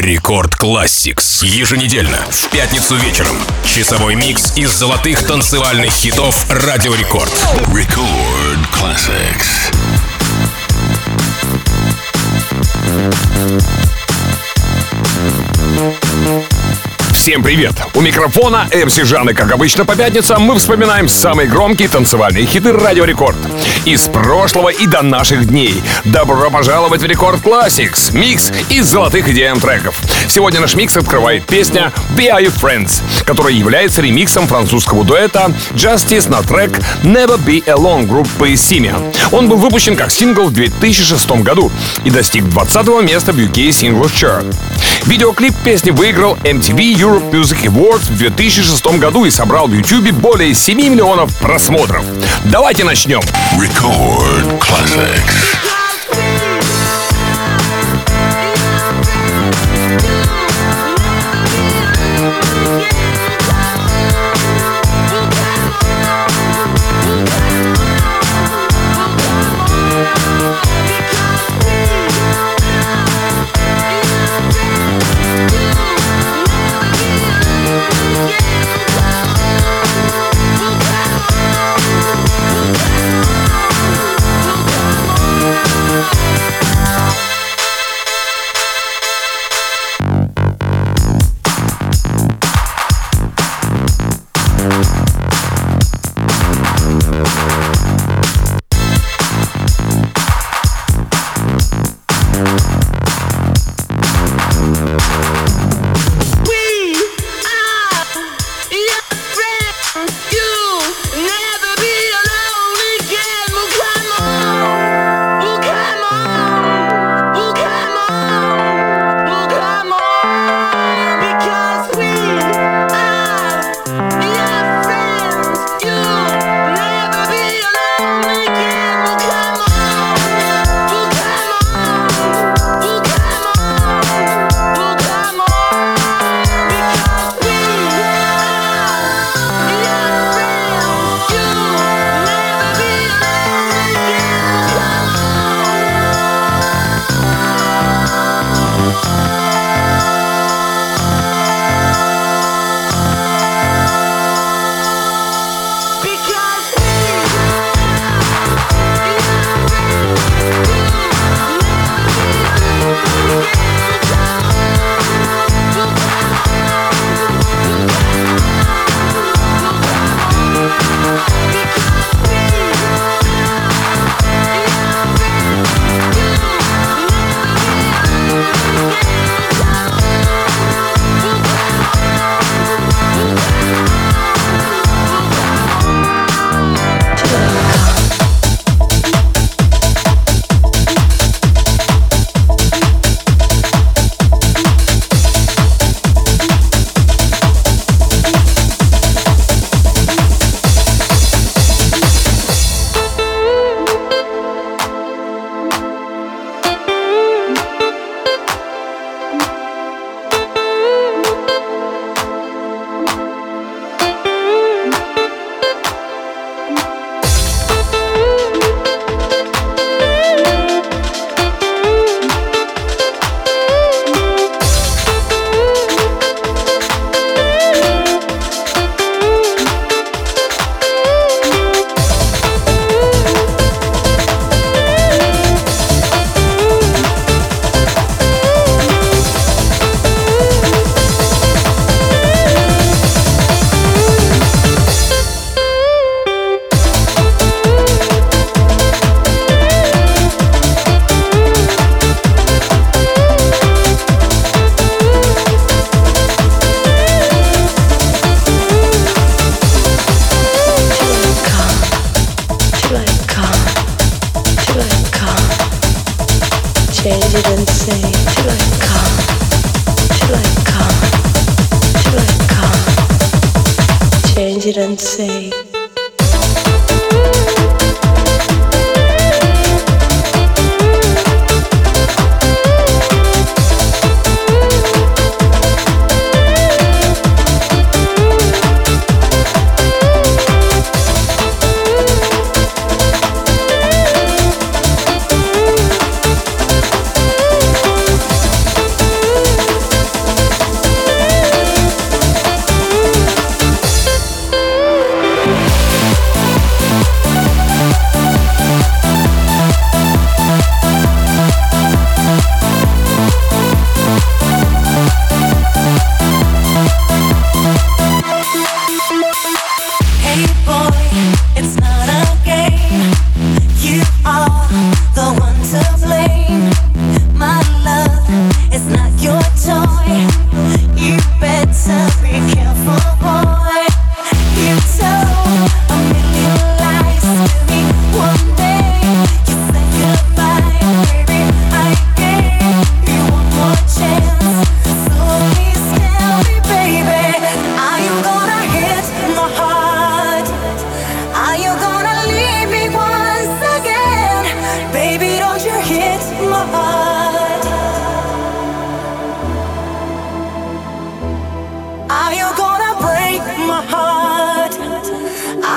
Рекорд Classics. Еженедельно, в пятницу вечером. Часовой микс из золотых танцевальных хитов Радио Рекорд. Record Classics. Всем привет! У микрофона МС Жан, и как обычно по пятницам мы вспоминаем самые громкие танцевальные хиты Радио Рекорд. Из прошлого и до наших дней. Добро пожаловать в Рекорд Classics, микс из золотых EDM треков. Сегодня наш микс открывает песня Be Are You Friends, которая является ремиксом французского дуэта Justice на трек Never Be Alone группы Simia. Он был выпущен как сингл в 2006 году и достиг 20-го места в UK Singles Chart. Видеоклип песни выиграл MTV Europe Music Awards в 2006 году и собрал в YouTube более 7 миллионов просмотров. Давайте начнем. Record Classics.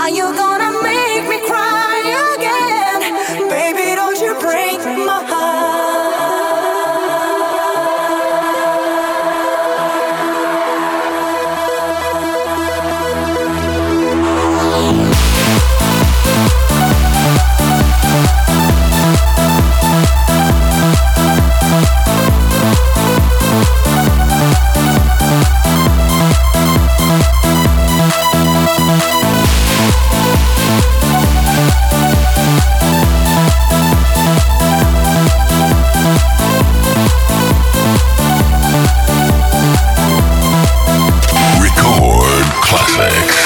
Are you gonna make me cry again? Baby, don't you break my heart. Record classics.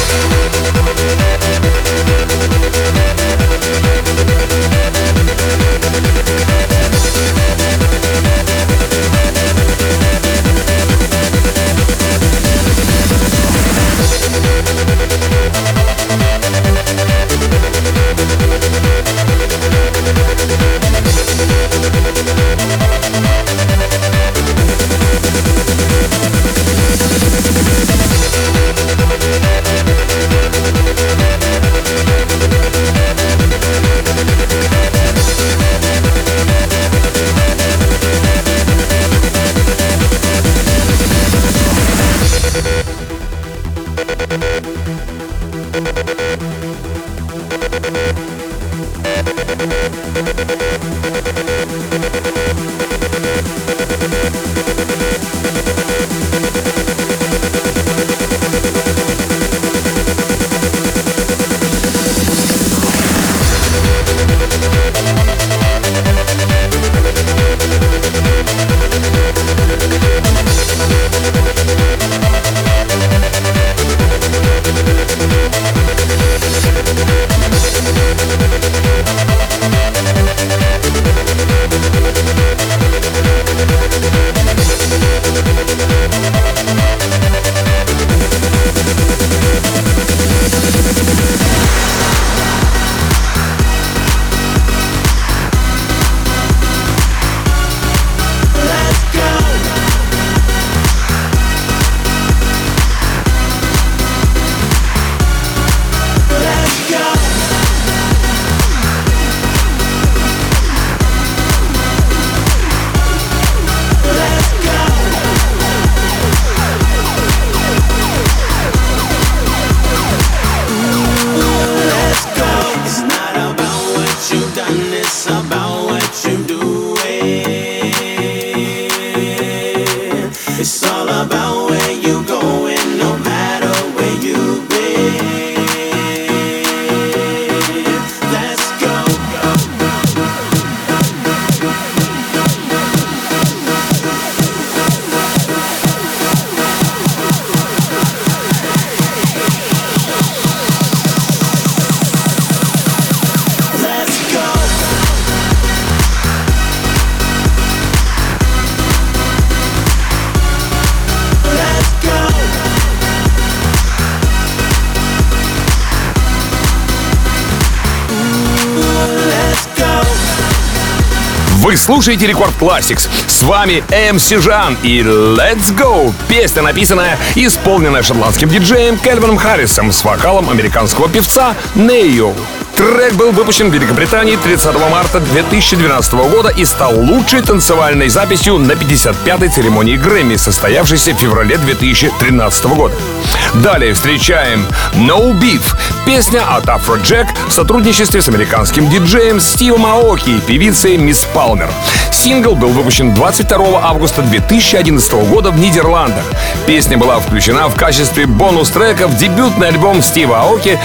Вы слушаете Рекорд Classics. С вами MC Жан и Let's Go. Песня, написанная и исполненная шотландским диджеем Кельвином Харрисом с вокалом американского певца Нео. Трек был выпущен в Великобритании 30 марта 2012 года и стал лучшей танцевальной записью на 55-й церемонии Грэмми, состоявшейся в феврале 2013 года. Далее встречаем No Beef, песня от Afrojack в сотрудничестве с американским диджеем Стивом Аоки и певицей Мисс Палмер. Сингл был выпущен 22 августа 2011 года в Нидерландах. Песня была включена в качестве бонус-трека в дебютный альбом Стива Аоки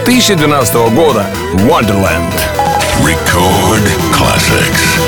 2012 года Wonderland. Record classics.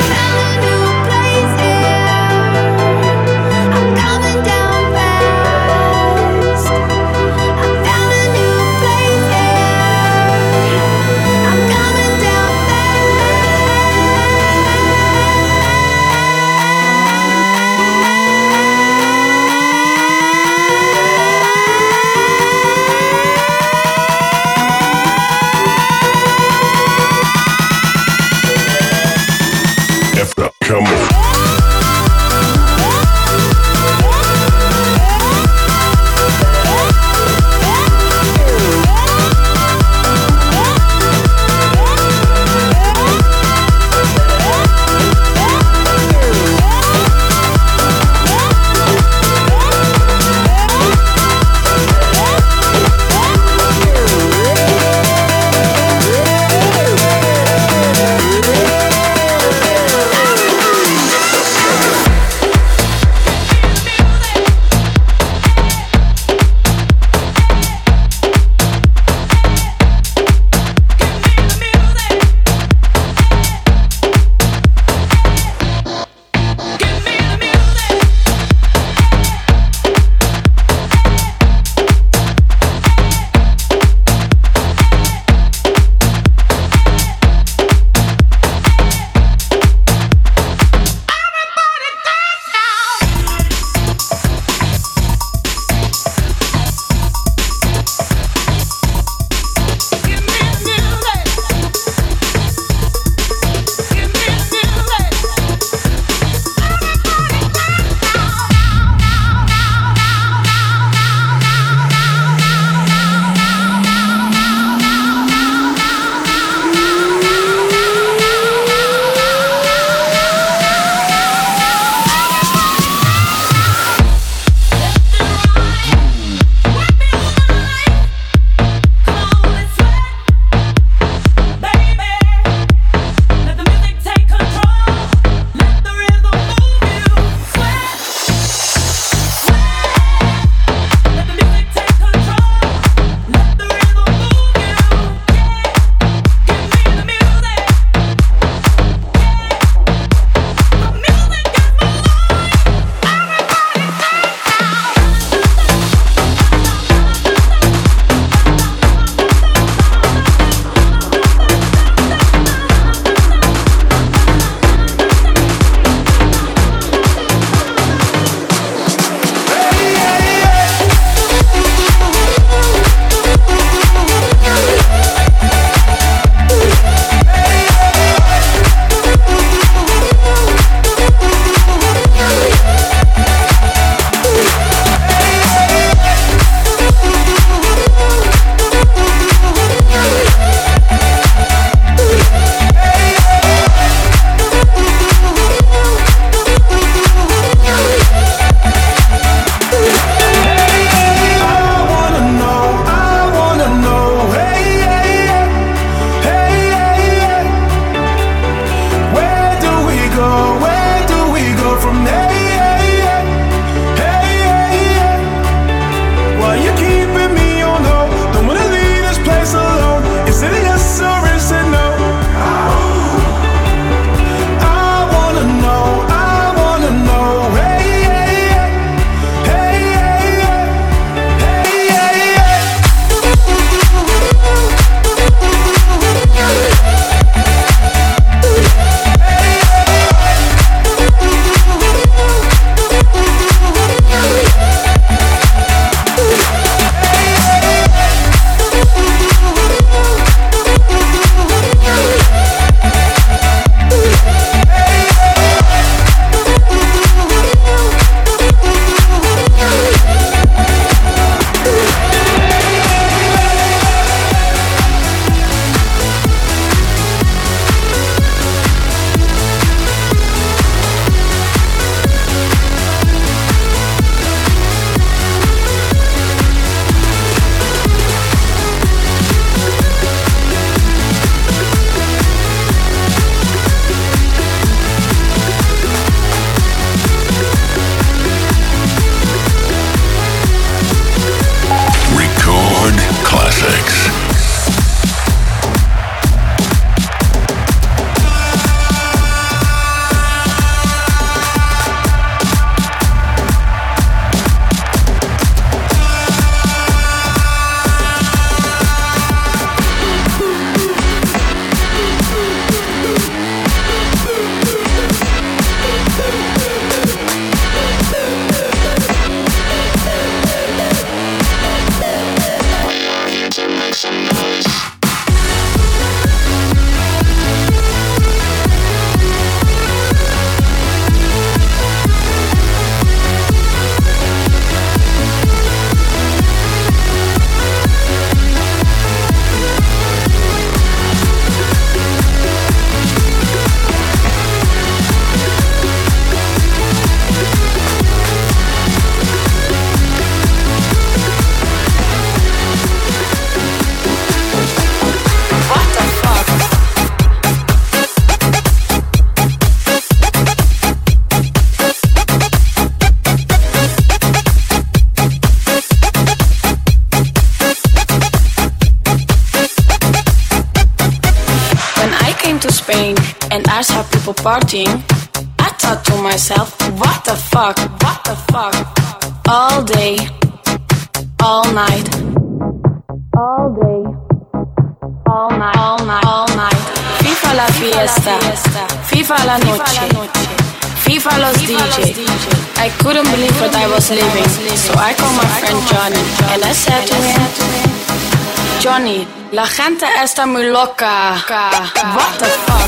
saw people partying. I thought to myself, what the fuck, what the fuck? All day, all night, all day, all night, all night, all night. FIFA la fiesta, FIFA la noche, FIFA los DJ. I couldn't believe what I was living, so I called my friend Johnny and I said to him, Johnny, la gente está muy loca. What the fuck?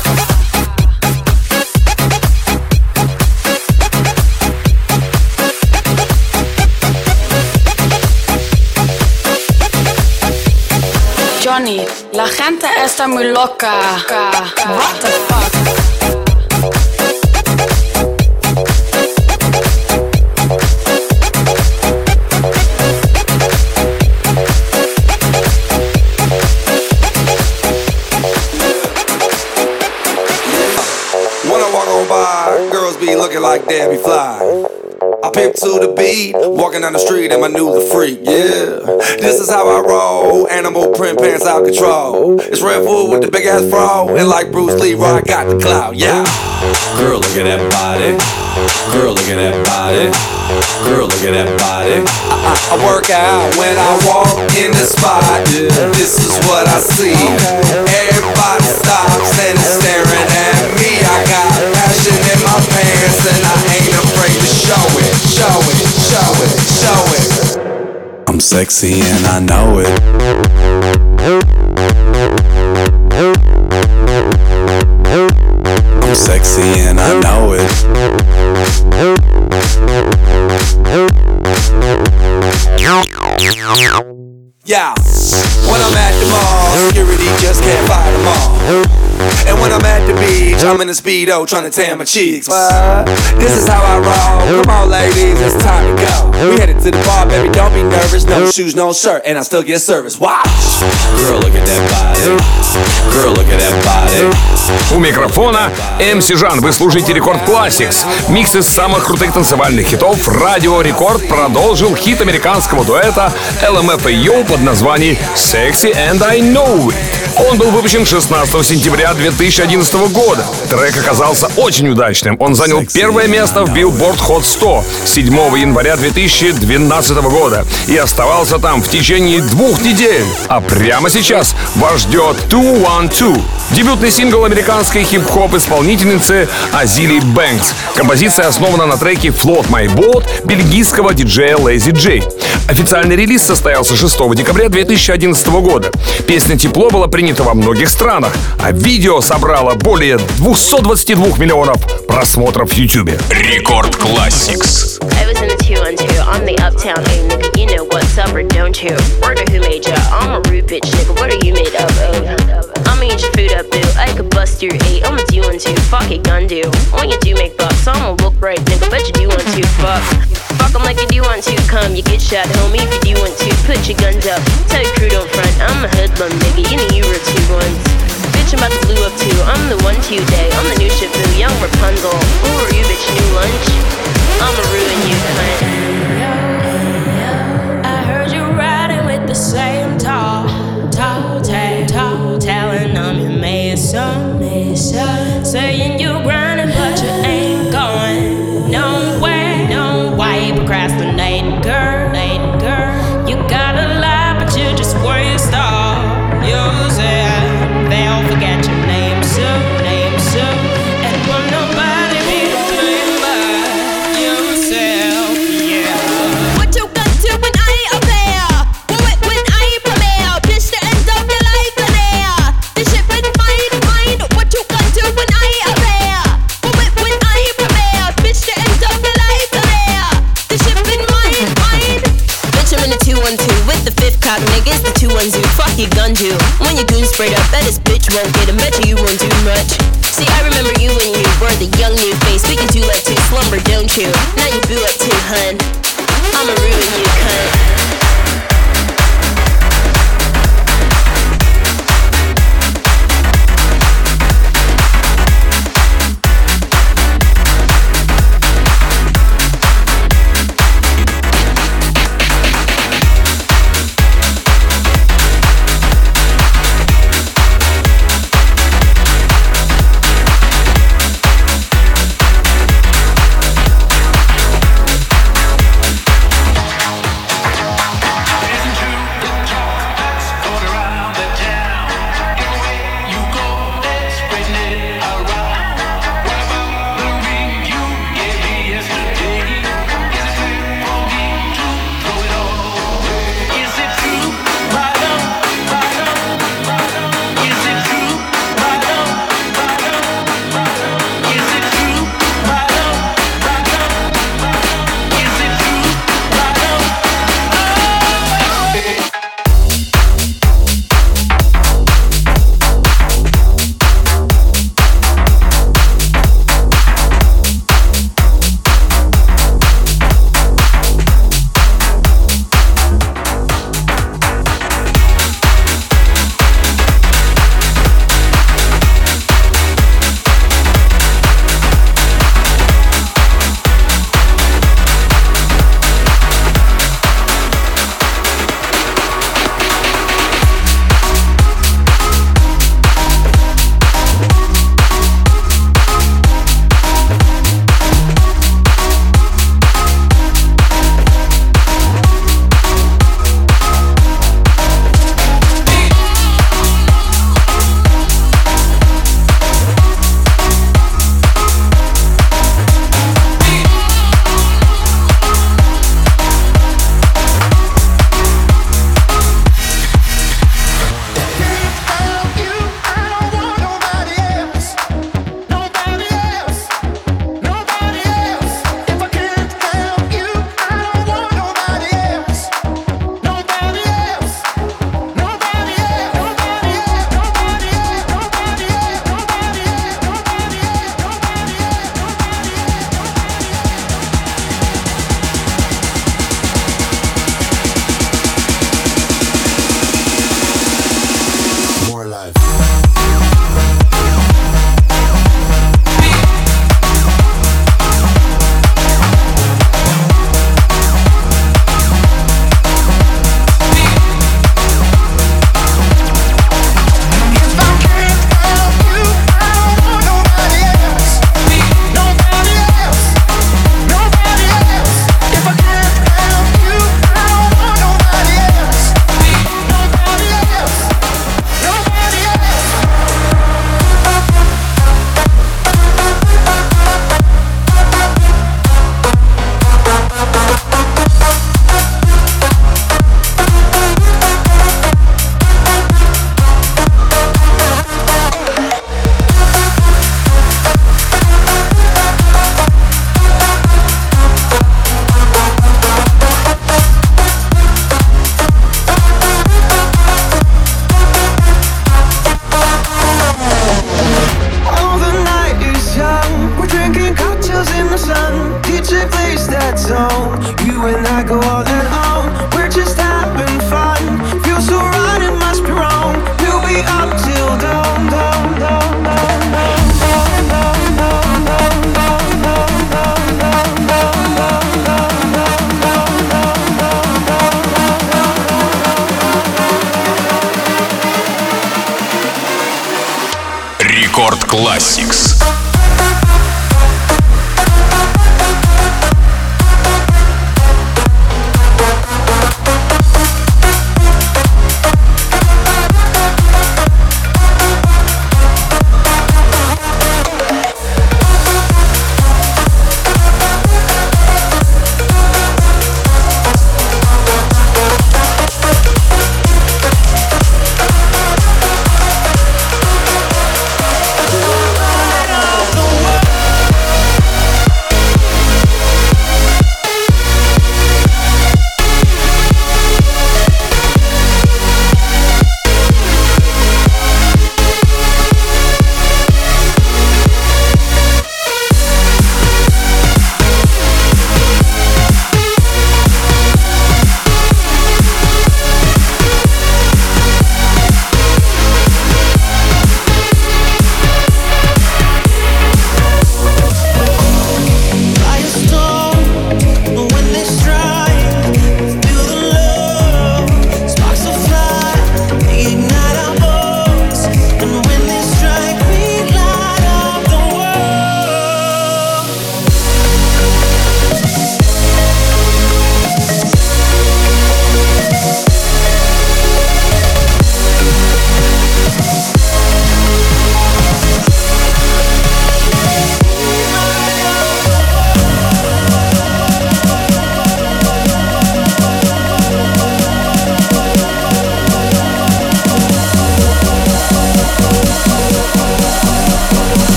Johnny, la gente está muy loca. What the fuck? When I walk on by, girls be looking like Debbie Fly. I pimp to the beat, walking down the street and my new the freak, yeah. This is how I roll, animal print pants out control. It's Red Bull with the big ass fro, and like Bruce Lee, I got the clout, yeah. Girl, look at that body. Girl, look at that body. Girl, look at that body. I work out when I walk in the spot. This is what I see. Everybody stops and is staring at me. I got passion in my pants and I ain't afraid to show it, show it, show it, show it. I'm sexy and I know it. I'm sexy and I know it. Yeah, when I'm at the mall, security just can't fight them all. And when I'm at the beach, I'm in a Speedo trying to tan my cheeks. But this is how I roll. Come on, ladies, it's time to go. We headed to the bar, baby, don't be nervous. No shoes, no shirt, and I still get service. Watch. Girl, look at that body. Girl, look at that body. У микрофона MC Жан. Вы слушаете Рекорд Classics. Микс из самых крутых танцевальных хитов. Радио Рекорд продолжил хит американского дуэта LMFAO под названием Sexy and I Know It. Он был выпущен 16 сентября 2011 года. Трек оказался очень удачным. Он занял первое место в Billboard Hot 100 7 января 2012 года и оставался там в течение 2 недель. А прямо сейчас вас ждет 212, дебютный сингл американской хип-хоп исполнительницы Азили Бэнкс. Композиция основана на треке Float My Boat бельгийского диджея Lazy J. Официальный релиз состоялся 6 декабря 2011 года. Песня «Тепло» была принята во многих странах, а видео собрало более 222 миллионов просмотров в YouTube. Рекорд Classics. I was in the 212, I'm the uptown A nigga, you know what's up or don't you? Word of who made ya? I'm a rude bitch nigga, what are you made up of? I'ma eat your food up, boo, I could bust your 8, I'm a 212, fuck it, gun do. When you do make bucks, I'ma look right, nigga, bet you do want to, fuck. Fuck 'em like you do want to, come, you get shot, homie, if you do want to, put your guns up, tell your crew don't front, I'm a hoodlum, nigga, you know you were 2-1s. Bitch, I'm about to blue up too, I'm the 1-2 day, I'm the new Shifu, young Rapunzel. Who are you, bitch, new lunch? I'ma ruin you, cunt. I heard you riding with the same tall talent. I'm your mason, saying you grinding, but you ain't going nowhere. No, why you procrastinating, girl? You gotta lie, but you just waste all yourself. They'll forget your name soon, and will nobody be doing but yourself, yeah. What you gonna do when I ain't aware? When I ain't prepared? Bitch, the end of your life in there. This shit been mine. What you gonna do when I ain't aware? When I ain't prepared? Bitch, the end of your life in there. This shit been mine. Bitch, I'm in the 212 with the 5th cop, niggas, the 212. Fuck your gun do. When your goon sprayed up, that this bitch won't get him. Bet you won't do much. See, I remember you when you were the young new face. We can do like 2 slumber, don't you? Now you boo up too, hun. I'ma ruin you, cunt. You and I go all and on. We're just having fun. Feel so right, it must be wrong. We'll be up till dawn, dawn, dawn, dawn, dawn. Рекорд Classics. Light up.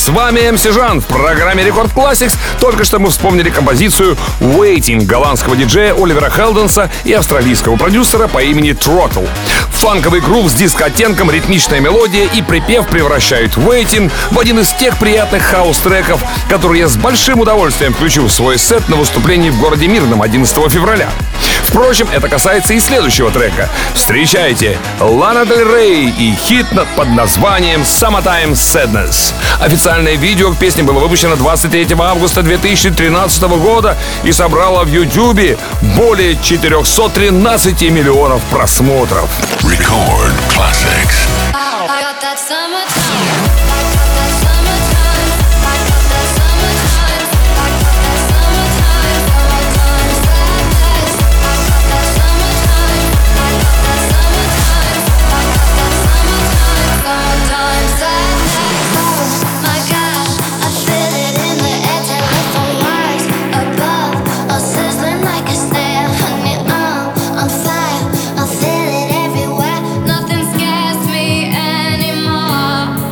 С вами МС Жан в программе Рекорд Classics. Только что мы вспомнили композицию Waiting голландского диджея Оливера Хелденса и австралийского продюсера по имени Throttle. Фанковый грув с диско-оттенком, ритмичная мелодия и припев превращают Waiting в один из тех приятных хаус-треков, которые я с большим удовольствием включу в свой сет на выступлении в городе Мирном 11 февраля. Впрочем, это касается и следующего трека. Встречайте, Лана Дель Рей и хит под названием Summertime Sadness. Официальное видео к песне было выпущено 23 августа 2013 года и собрало в Ютубе более 413 миллионов просмотров. Record classics. Nothing scares me anymore.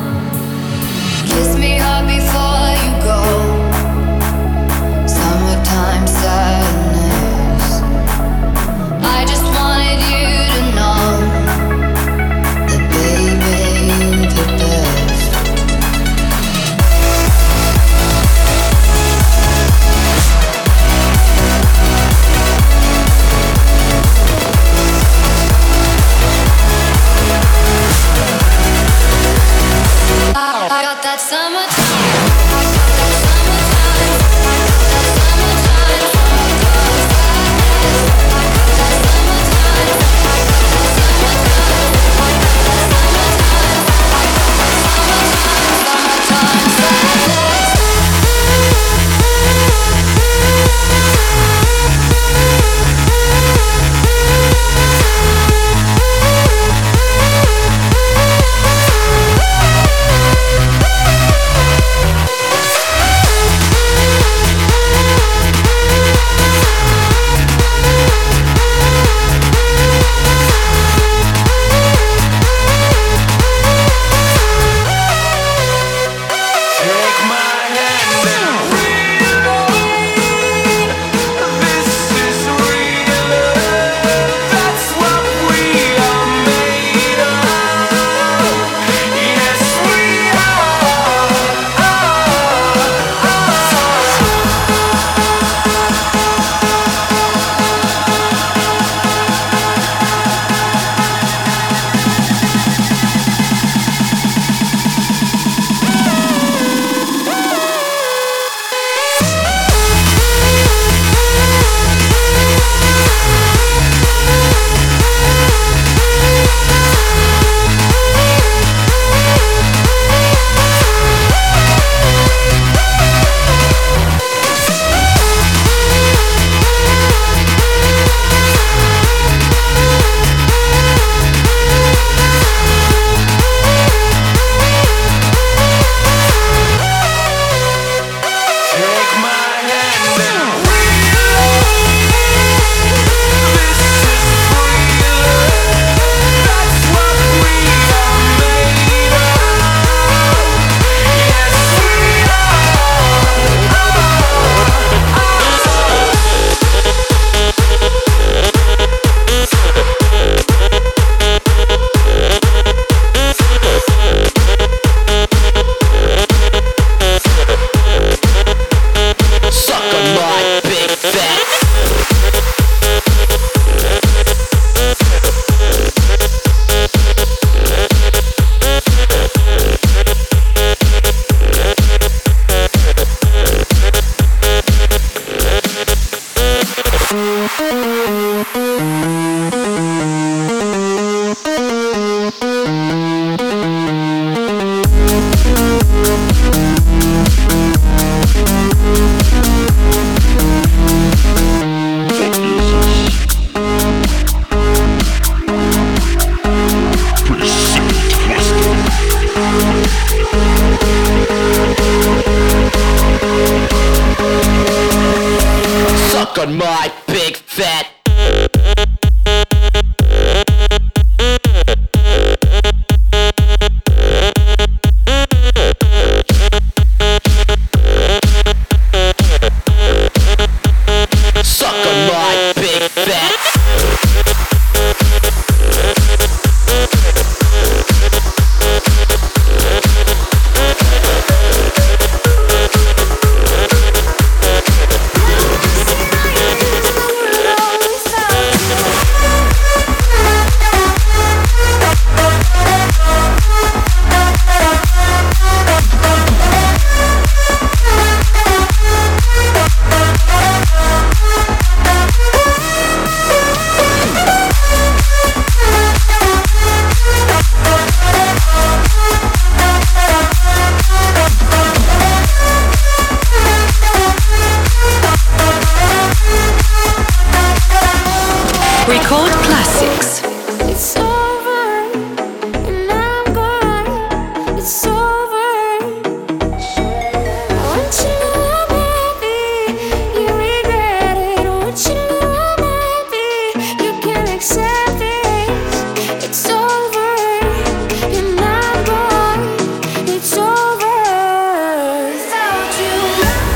Record Classics. It's over, and I'm gone. It's over. I want you to know I'm happy. You regret it. I want you to know I'm happy. You can't accept it. It's over, and I'm gone. It's over without you.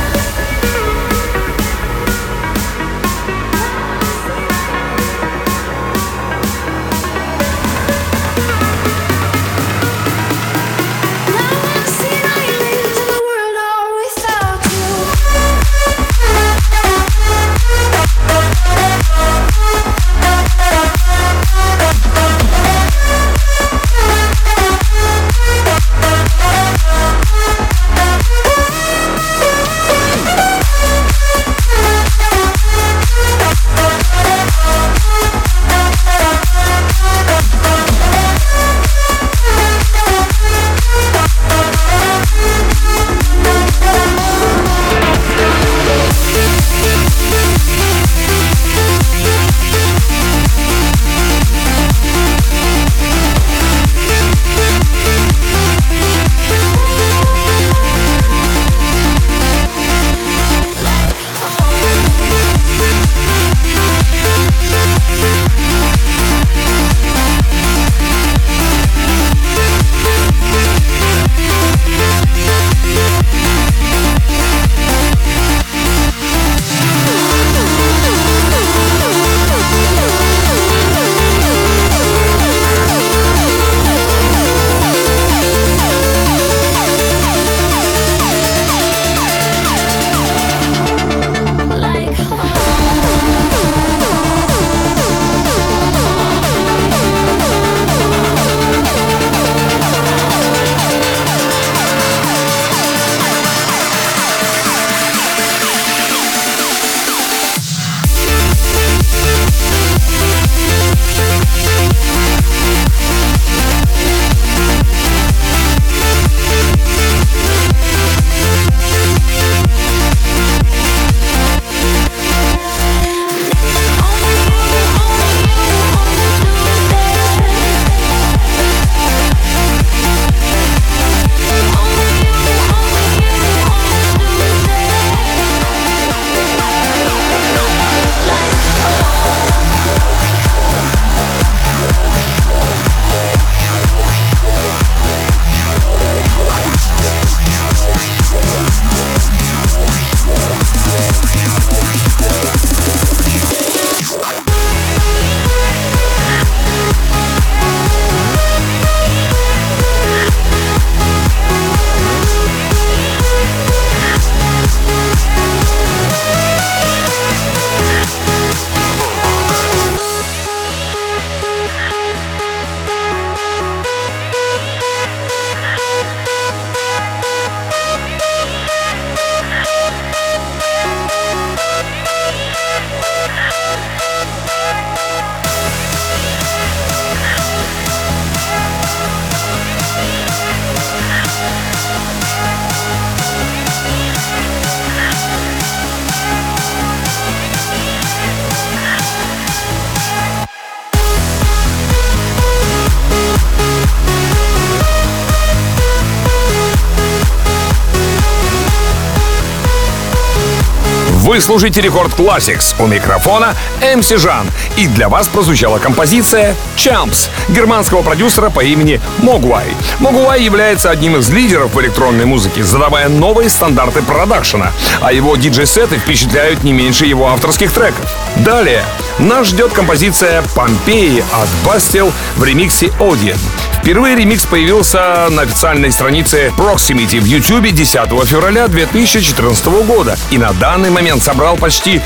Вы слушаете Рекорд Classics, у микрофона MC Жан. И для вас прозвучала композиция Champs германского продюсера по имени Mogwai. Mogwai является одним из лидеров в электронной музыке, задавая новые стандарты продакшена, а его диджей-сеты впечатляют не меньше его авторских треков. Далее нас ждет композиция Pompeii от Bastille в ремиксе Odin. Впервые ремикс появился на официальной странице Proximity в YouTube 10 февраля 2014 года и на данный момент собрал почти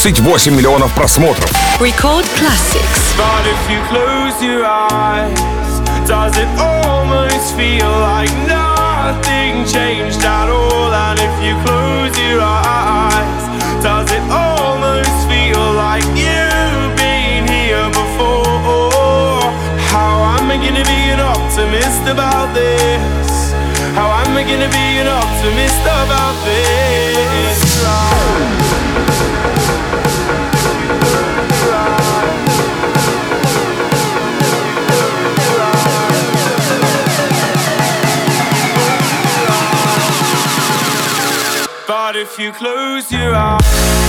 38 миллионов просмотров. Record Classics. But if you close your eyes, does it almost feel like nothing changed at all? And if you close your eyes, does it almost feel like you've been here before? How am I gonna be an optimist about this? How am I gonna be an optimist about this? if you close your eyes.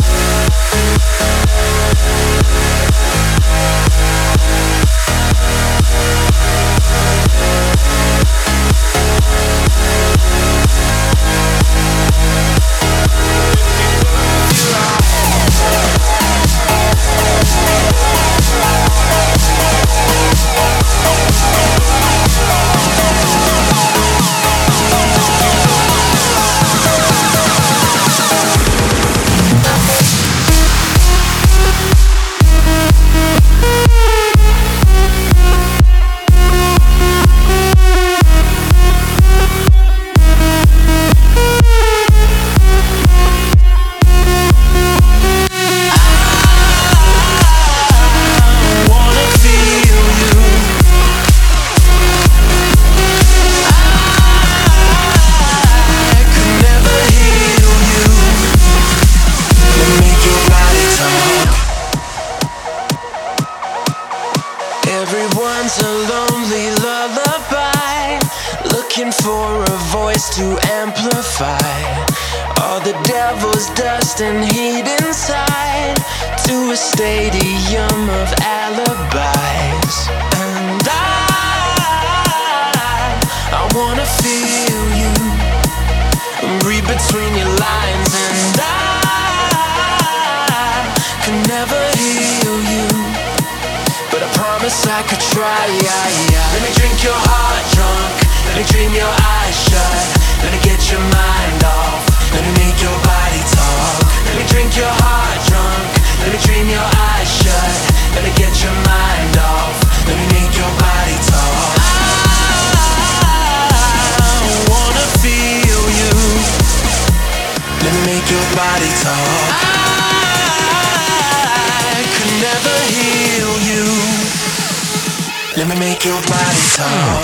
Let me make your body talk.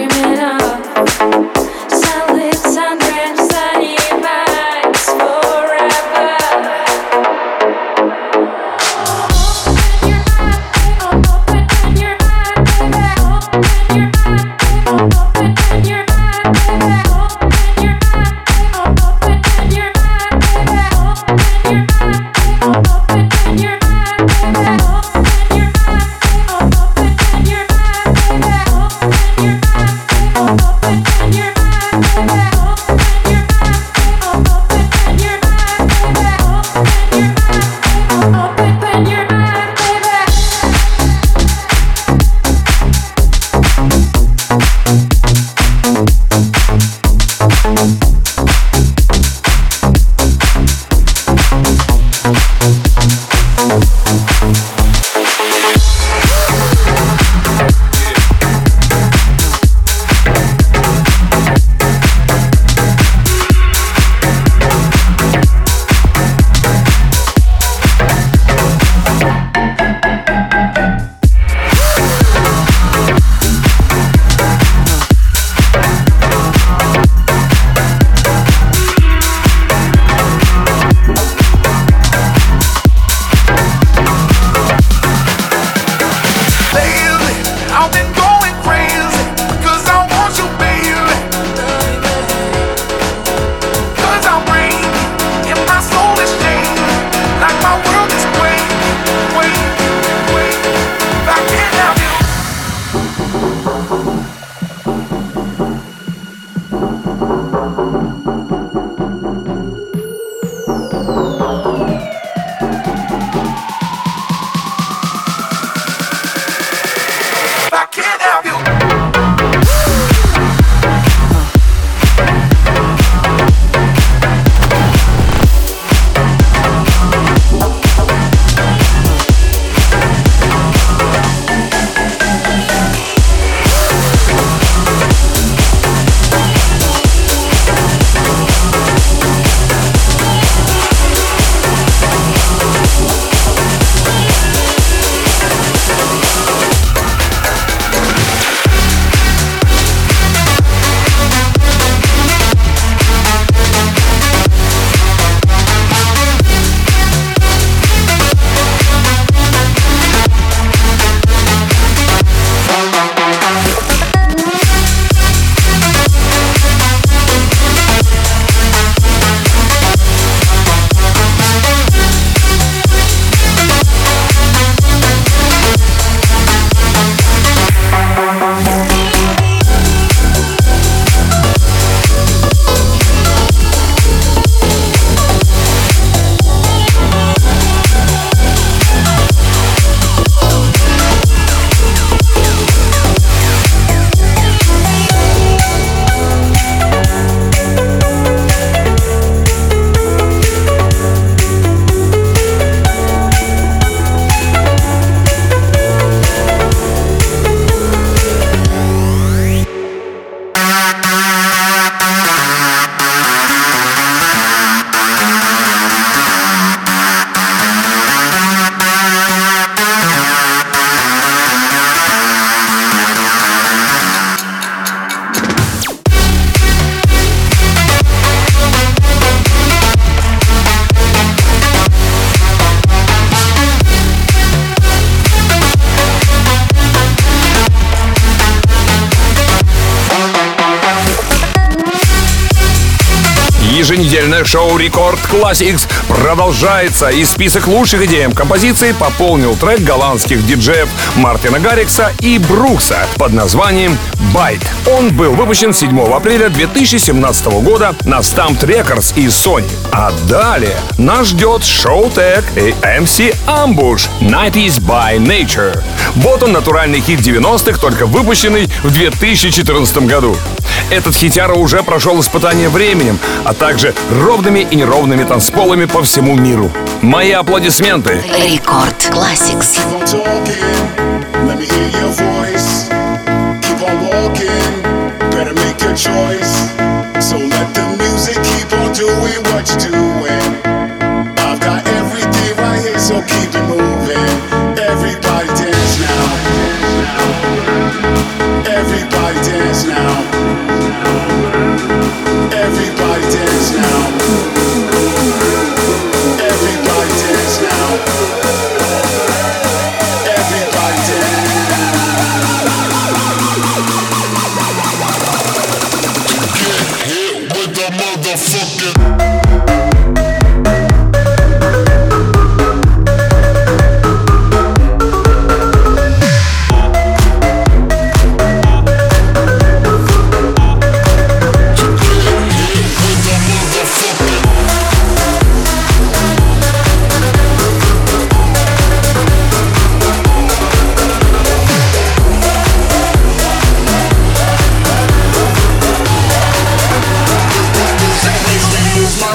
Еженедельное шоу Рекорд Classics продолжается, и список лучших EDM композиций пополнил трек голландских диджеев Мартина Гаррикса и Брукса под названием Bite. Он был выпущен 7 апреля 2017 года на Stamped Records и Sony. А далее нас ждет Showtek и MC Ambush «90s by Nature». Вот он, натуральный хит 90-х, только выпущенный в 2014 году. Этот хитяра уже прошел испытание временем, а также ровными и неровными танцполами по всему миру. Мои аплодисменты. Рекорд Classics. Everybody dance now. My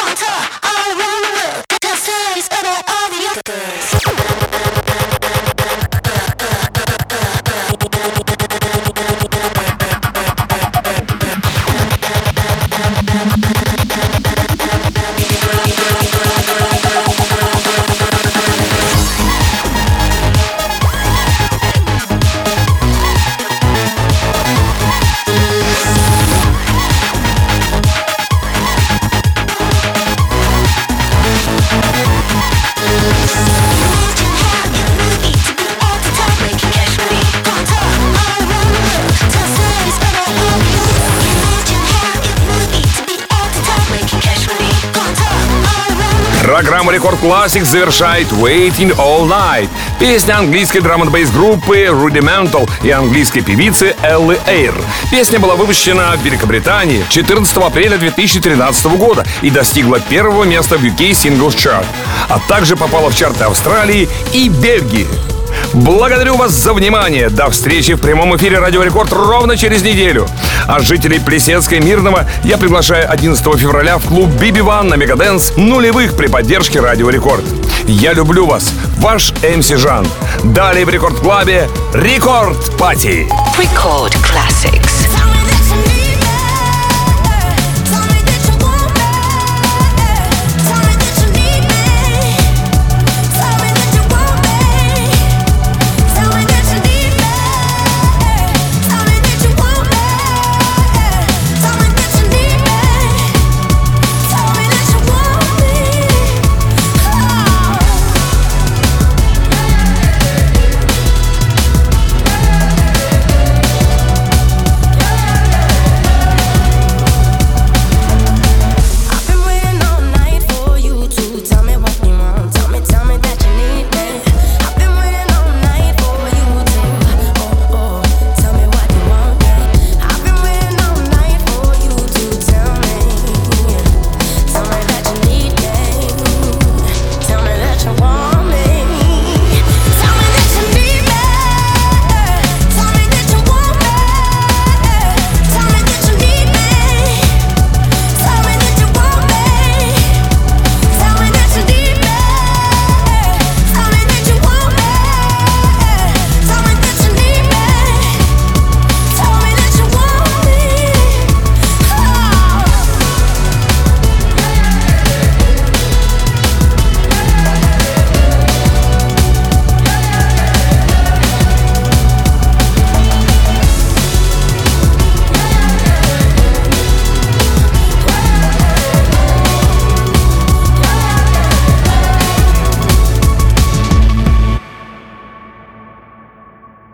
Программу Рекорд Classics завершает Waiting All Night, песня английской драм-н-бейс группы Rudimental и английской певицы Элли Эйр. Песня была выпущена в Великобритании 14 апреля 2013 года и достигла первого места в UK Singles Chart, а также попала в чарты Австралии и Бельгии. Благодарю вас за внимание. До встречи в прямом эфире Радио Рекорд ровно через неделю. А жителей Плесецка и Мирного я приглашаю 11 февраля в клуб BB1 на Мегадэнс нулевых при поддержке Радио Рекорд. Я люблю вас. Ваш МС Жан. Далее в Рекорд Клабе Рекорд Пати. Рекорд